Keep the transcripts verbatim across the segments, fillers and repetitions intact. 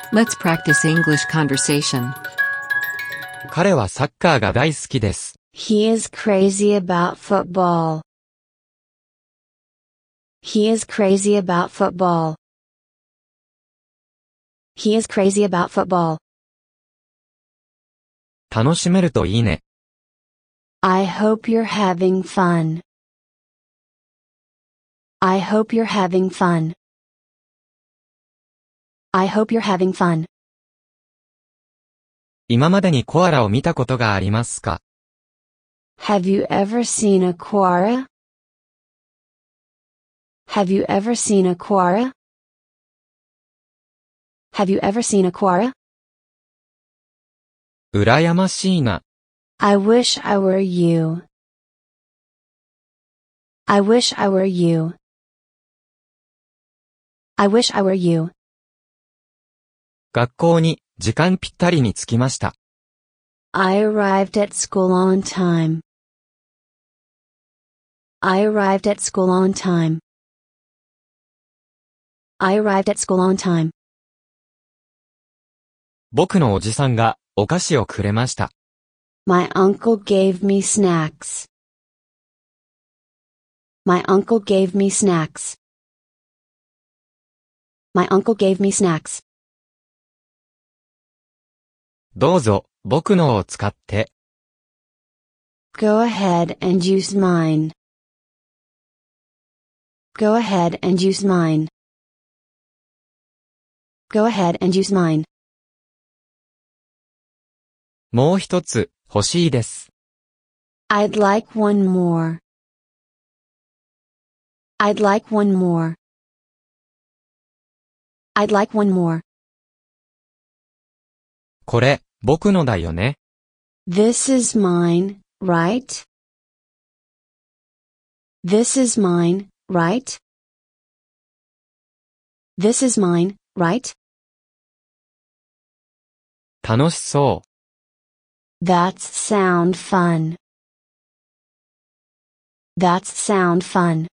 Let's practice English conversation. 彼はサッカーが大好きです。 He is crazy about football. He is crazy about football. He is crazy about football. 楽しめるといいね。 I hope you're having fun. I hope you're having fun. I hope you're having fun. 今までにコアラを見たことがありますか？ Have you ever seen a koala? Have you ever seen a koala? Have you ever seen a koala? うらやましいな。 I wish I were you. I wish I were you. I wish I were you. 学校に時間ぴったりに着きました。 I arrived at school on time. I arrived at school on time. I arrived at school on time. 僕のおじさんがお菓子をくれました。 My uncle gave me snacks. My uncle gave me snacks. My uncle gave me snacks. どうぞ、僕のを使って。 Go ahead and use mine. Go ahead and use mine. Go ahead and use mine. もう一つ、欲しいです。 I'd like one more. I'd like one more. I'd like one more. これ、僕のだよね。 This is mine, right? This is mine, right? This is mine, right? 楽しそう。 That's sound fun. That's sound fun.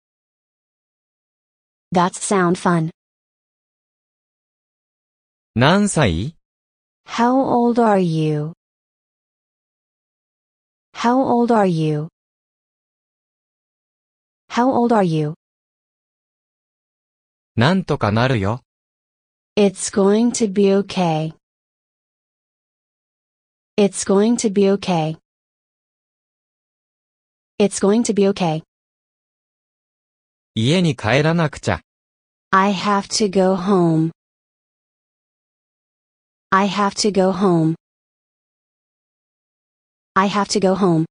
That's sound fun. 何歳？ How old are you? How old are you? How old are you? なんとかなるよ。 It's going to be okay. It's going to be okay. It's going to be okay. 家に帰らなくちゃ。 I have to go home. I have to go home. I have to go home.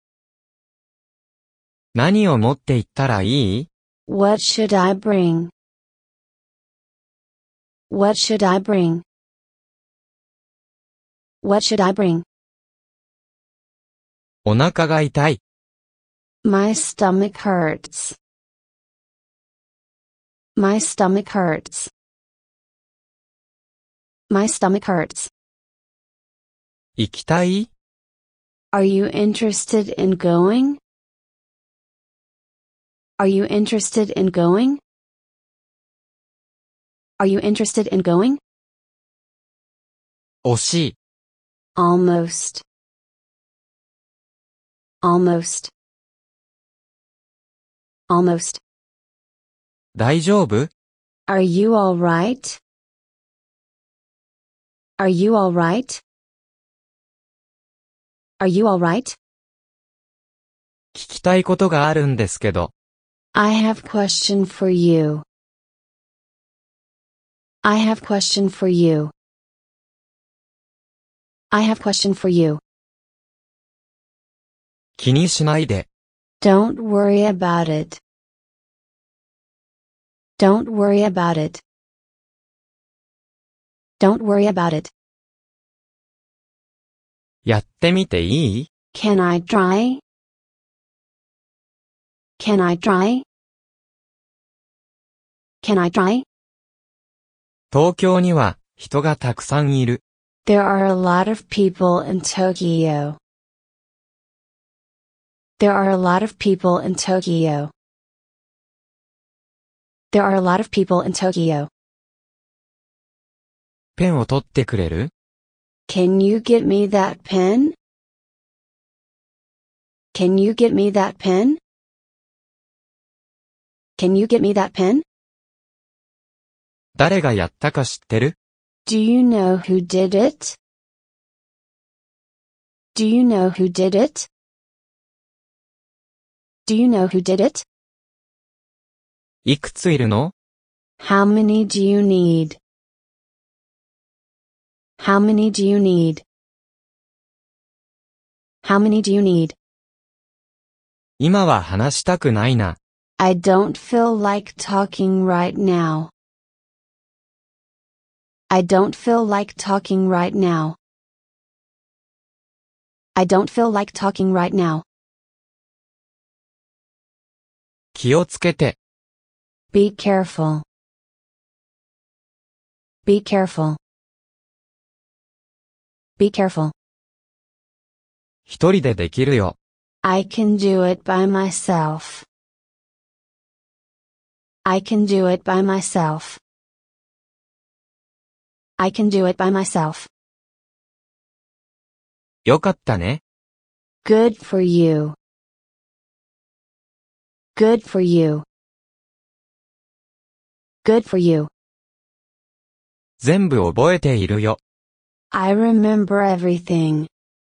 何を持って行ったらいい？ What should I bring? What should I bring? What should I bring? お腹が痛い。 My stomach hurts. My stomach hurts. My stomach hurts. 行きたい？ Are you interested in going? Are you interested in going? Are you interested in going? 惜しい。 Almost. Almost. Almost. 大丈夫？ Are you alright? Are you alright? Are you alright? 聞きたいことがあるんですけど。 I have question for you. I have question for you. I have question for you. 気にしないで。 Don't worry about it. Don't worry about it. Don't worry about it. やってみていい？ Can I try? Can I try? Can I try? 東京には人がたくさんいる。 There are a lot of people in Tokyo. There are a lot of people in Tokyo. There are a lot of people in Tokyo. ペンを取ってくれる？ Can you get me that pen? Can you get me that pen? Can you get me that pen? 誰がやったか知ってる？ Do you know who did it? Do you know who did it? Do you know who did it? いくついるの？ How many do you need? How many do you need? How many do you need? 今は話したくないな。 I don't feel like talking right now. I don't feel like talking right now. I don't feel like talking right now. 気をつけて。 Be careful. Be careful. Be careful. 一人でできるよ。 I can do it by myself. I can do it by myself. I can do it by myself. よかったね。 Good for you. Good for you. Good for you. 全部覚えているよ。 I remember everything.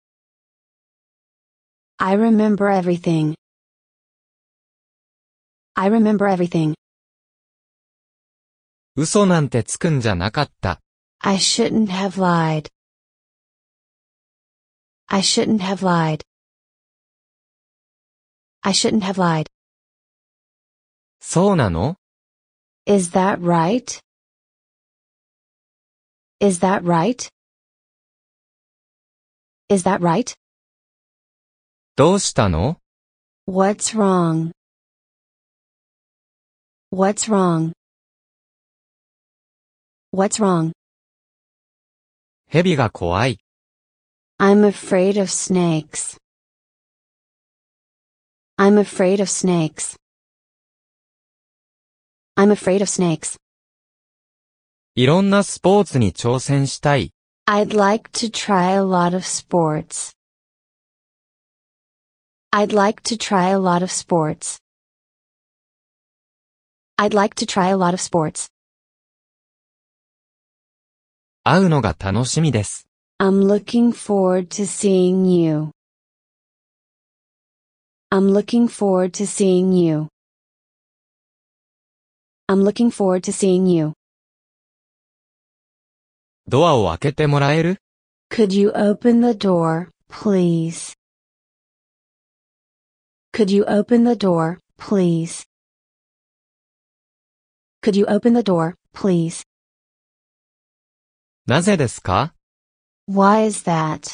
I remember everything. I remember everything. 嘘なんてつくんじゃなかった。 I shouldn't have lied. I shouldn't have lied. I shouldn't have lied. そうなの？ Is that right? Is that right? Is that right? どうしたの？ What's wrong? What's wrong? What's wrong? 蛇が怖い。 I'm afraid of snakes. I'm afraid of snakes. I'm afraid of snakes. いろんなスポーツに挑戦したい。 I'd like to try a lot of sports. I'd like to try a lot of sports. I'd like to try a lot of sports. 会うのが楽しみです。 I'm looking forward to seeing you. I'm looking forward to seeing you. I'm looking forward to seeing you. ドアを開けてもらえる？ Could you open the door, please? Could you open the door, please? Could you open the door, please? なぜですか？ Why is that?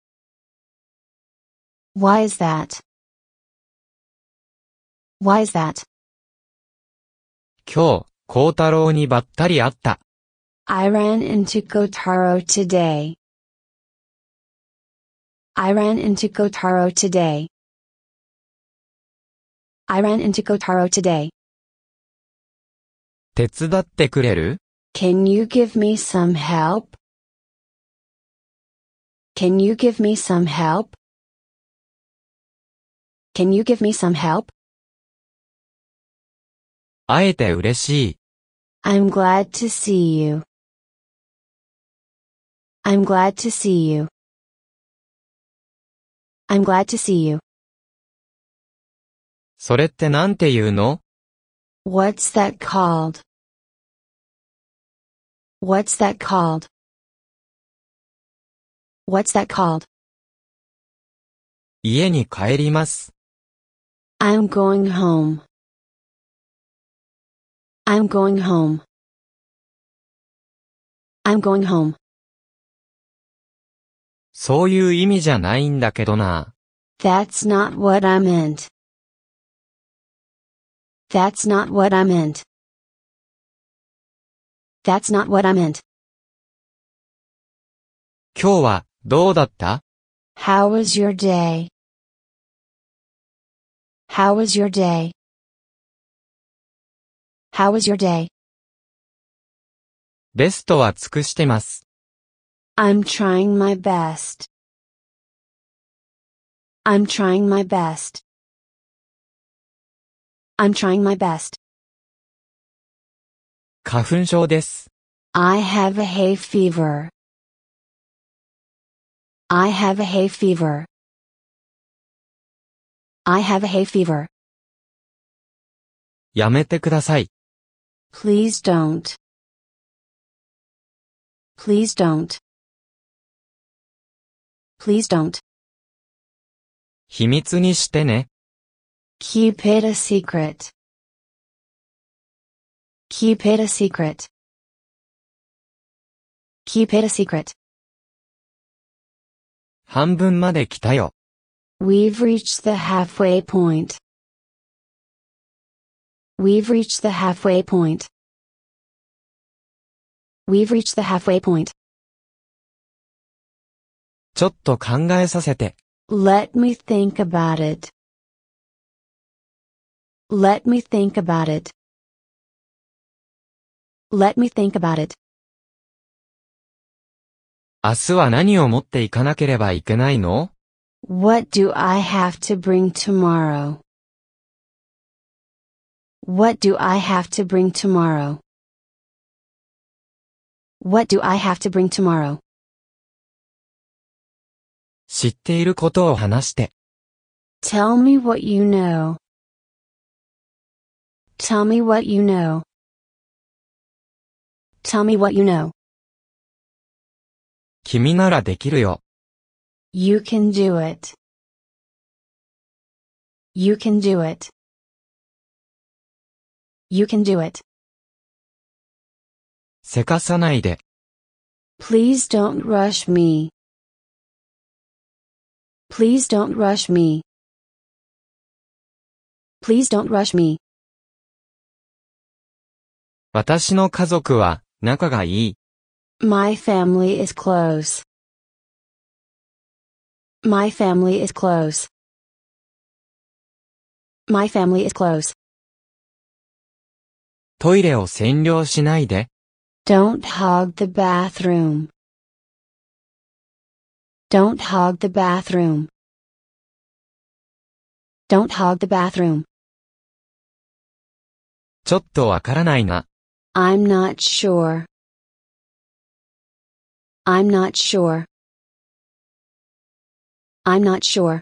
Why is that? Why is that? 今日、幸太郎にばったり会った。 I ran into Kotaro today. I ran into Kotaro today. I ran into Kotaro today. 手伝ってくれる？ Can you give me some help? Can you give me some help? Can you give me some help? 会えて嬉しい。 I'm glad to see you. I'm glad to see you. I'm glad to see you. それってなんて言うの？ What's that called? What's that called? What's that called? 家に帰ります。 I'm going home. I'm going home. I'm going home. そういう意味じゃないんだけどな。 That's not what I meant. That's not what I meant. That's not what I meant. 今日はどうだった？ How was your day? How was your day? How was your day? ベストは尽くしてます。 I'm trying my best. I'm trying my best. I'm trying my best. 花粉症です。 I have a hay fever. I have a hay fever. I have a hay fever. やめてください。 Please don't. Please don't. Please don't. 秘密にしてね。 Keep it a secret. Keep it a secret. Keep it a secret. 半分まで来たよ。 We've reached the halfway point. We've reached the halfway point. We've reached the halfway point. ちょっと考えさせて。 Let me think about it. Let me think about it. Let me think about it. 明日は何を持っていかなければいけないの？ What do I have to bring tomorrow? What do I have to bring tomorrow? What do I have to bring tomorrow? 知っていることを話して。 Tell me what you know. Tell me what you know. Tell me what you know. 君ならできるよ。 You can do it. You can do it. You can do it. せかさないで。 Please don't rush me. Please don't rush me. Please don't rush me. 私の家族は仲がいい。 My family is close. My family is close. My family is close. トイレを占領しないで。 Don't hog the bathroom. Don't hog the bathroom. Don't hog the bathroom. ちょっとわからないな。 I'm not sure. I'm not sure. I'm not sure.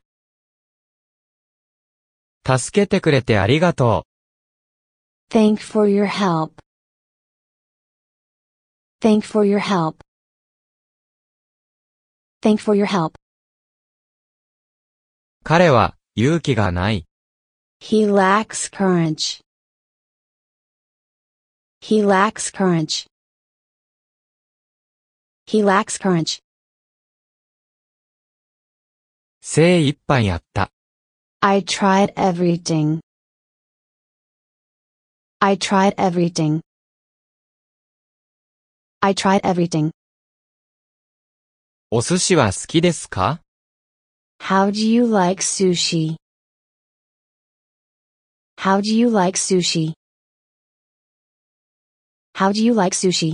助けてくれてありがとう。 Thank for your help. Thank for your help. Thank for your help. 彼は勇気がない。 He lacks courage. He lacks courage. He lacks courage. 精一杯やった。 I tried everything. I tried everything. I tried everything. お寿司は好きですか？ How do you like sushi? How do you like sushi? How do you like sushi?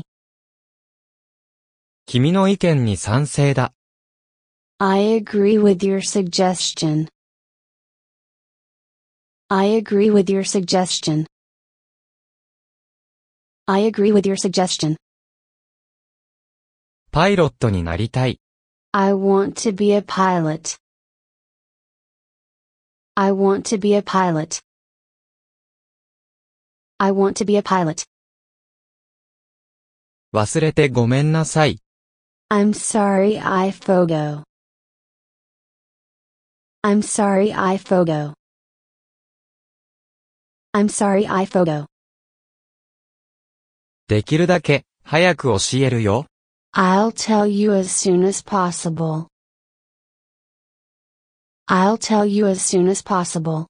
君の意見に賛成だ。 I agree with your suggestion. I agree with your suggestion. I agree with your suggestion. パイロットになりたい。 I want to be a pilot. I want to be a pilot. I want to be a pilot. 忘れてごめんなさい。 I'm sorry I forgo. I'm sorry I forgo. I'm sorry I forgo. できるだけ早く教えるよ。 I'll tell you as soon as possible. I'll tell you as soon as possible.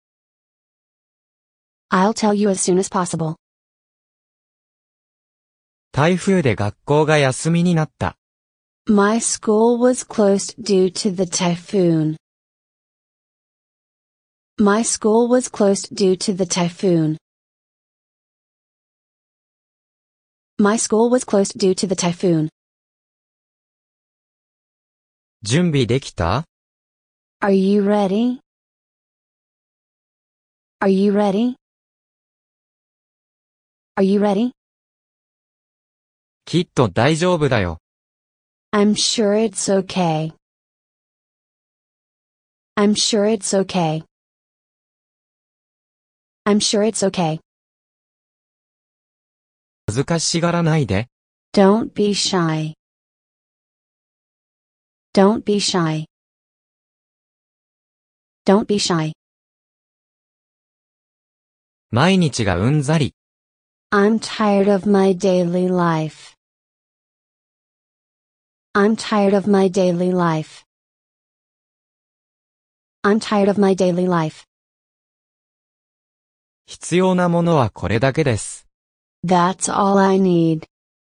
I'll tell you as soon as possible. 台風で学校が休みになった。 My school was closed due to the typhoon. My school was closed due to the typhoon. My school was closed due to the typhoon. 準備できた？ Are you ready? Are you ready? Are you ready? きっと大丈夫だよ。 I'm sure it's okay. I'm sure it's okay. I'm sure it's okay. 恥ずかしがらないで。 Don't be shy. Don't be shy. Don't be shy. 毎日がうんざり。 I'm tired of my daily life. I'm tired of my daily life. I'm tired of my daily life. 必要なものはこれだけです。 That's all I need.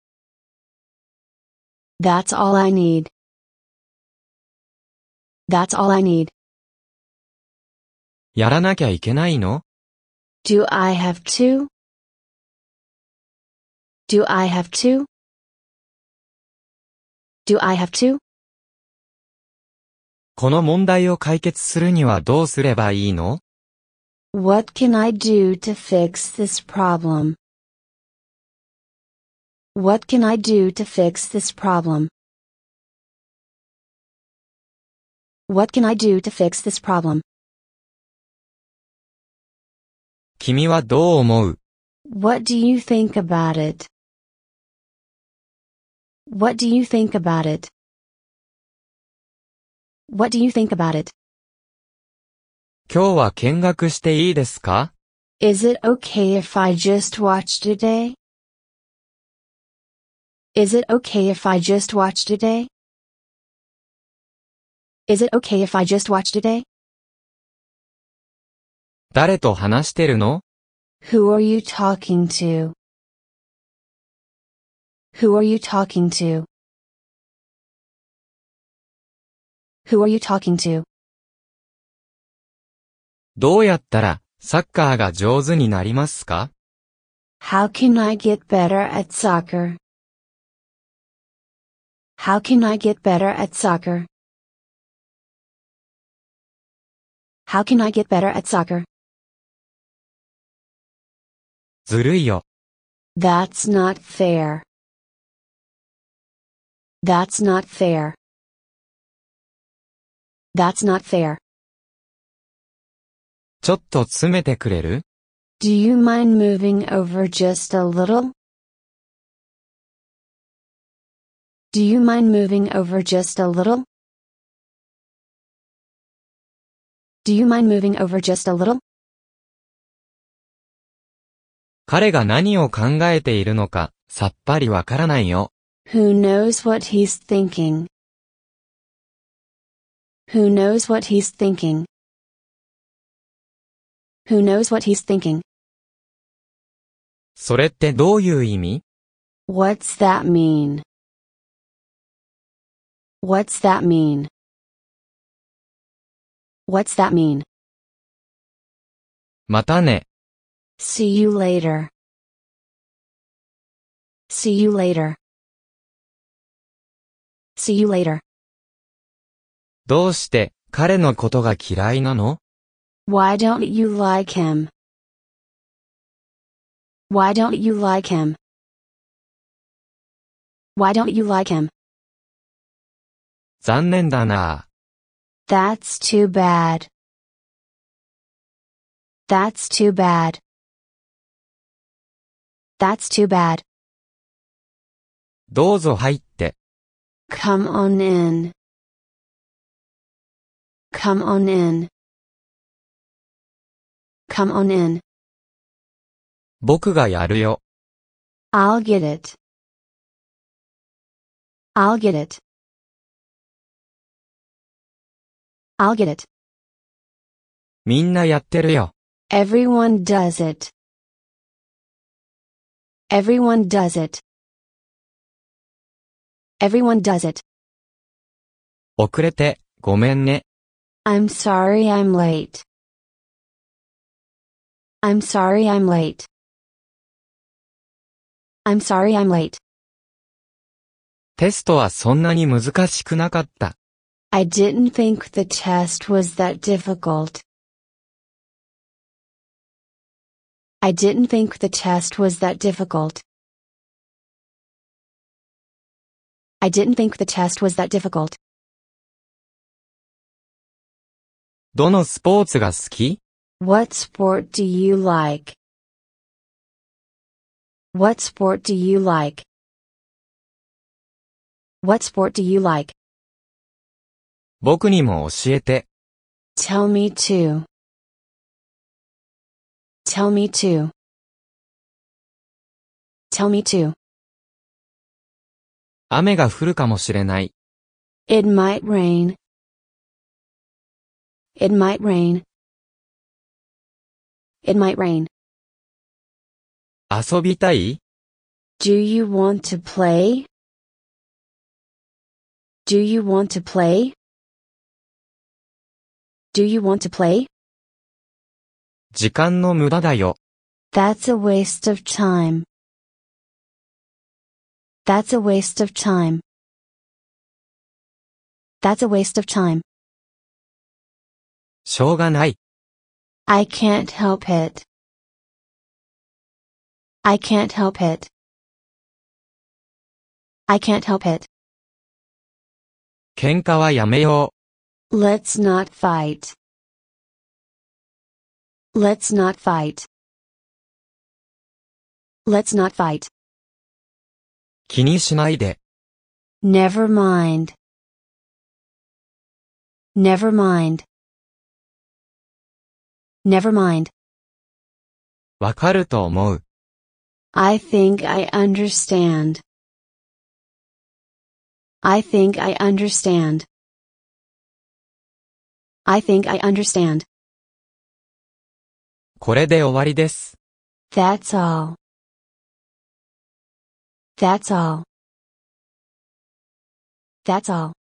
That's all I need. That's all I need. やらなきゃいけないの？ Do I have to? Do I have to? Do I have to? この問題を解決するにはどうすればいいの？ What can I do to fix this problem? What can I do to fix this problem? What can I do to fix this problem? 君はどう思う？ What do you think about it? What do you think about it? What do you think about it? 今日は見学していいですか？ Is it okay if I just watch today? Is it okay if I just watch today? Is it okay if I just watch today? 誰と話してるの？ Who are you talking to? Who are you talking to? Who are you talking to? どうやったらサッカーが上手になりますか？ How can I get better at soccer? How can I get better at soccer? How can I get better at soccer? ずるいよ。 That's not fair. That's not fair. That's not fair. ちょっと詰めてくれる？ Do you mind moving over just a little? Do you mind moving over just a little? Do you mind moving over just a little? 彼が何を考えているのか、さっぱりわからないよ。 Who knows what he's thinking? Who knows what he's thinking? Who knows what he's thinking? それってどういう意味？ What's that mean? What's that mean? What's that mean? またね。 See you later. See you later. See you later. どうして彼のことが嫌いなの？ Why don't you like him? Why don't you like him? Why don't you like him? 残念だな。 That's too bad. That's too bad. That's too bad. どうぞ入って。 Come on in. Come on in. Come on in. 僕がやるよ。 I'll get it. I'll get it. I'll get it. みんなやってるよ。 Everyone does it. Everyone does it. Everyone does it. 遅れて、ごめんね。 I'm sorry I'm late. I'm sorry I'm late. I'm sorry I'm late. テストはそんなに難しくなかった。 I didn't think the test was that difficult. I didn't think the test was that difficult. I didn't think the test was that difficult. どのスポーツが好き？ What sport do you like? What sport do you like? What sport do you like? 僕にも教えて。 Tell me too. Tell me too. Tell me too. 雨が降るかもしれない。 It might rain. It might rain. It might rain. 遊びたい？ Do you want to play? Do you want to play? Do you want to play? 時間の無駄だよ。 That's a waste of time. That's a waste of time. That's a waste of time. しょうがない。 I can't help it. I can't help it. I can't help it. 喧嘩はやめよう。 Let's not fight. Let's not fight. Let's not fight. 気にしないで。 Never mind. Never mind. Never mind. わかると思う。 I think I understand. I think I understand. I think I understand. これで終わりです。 That's all. That's all. That's all.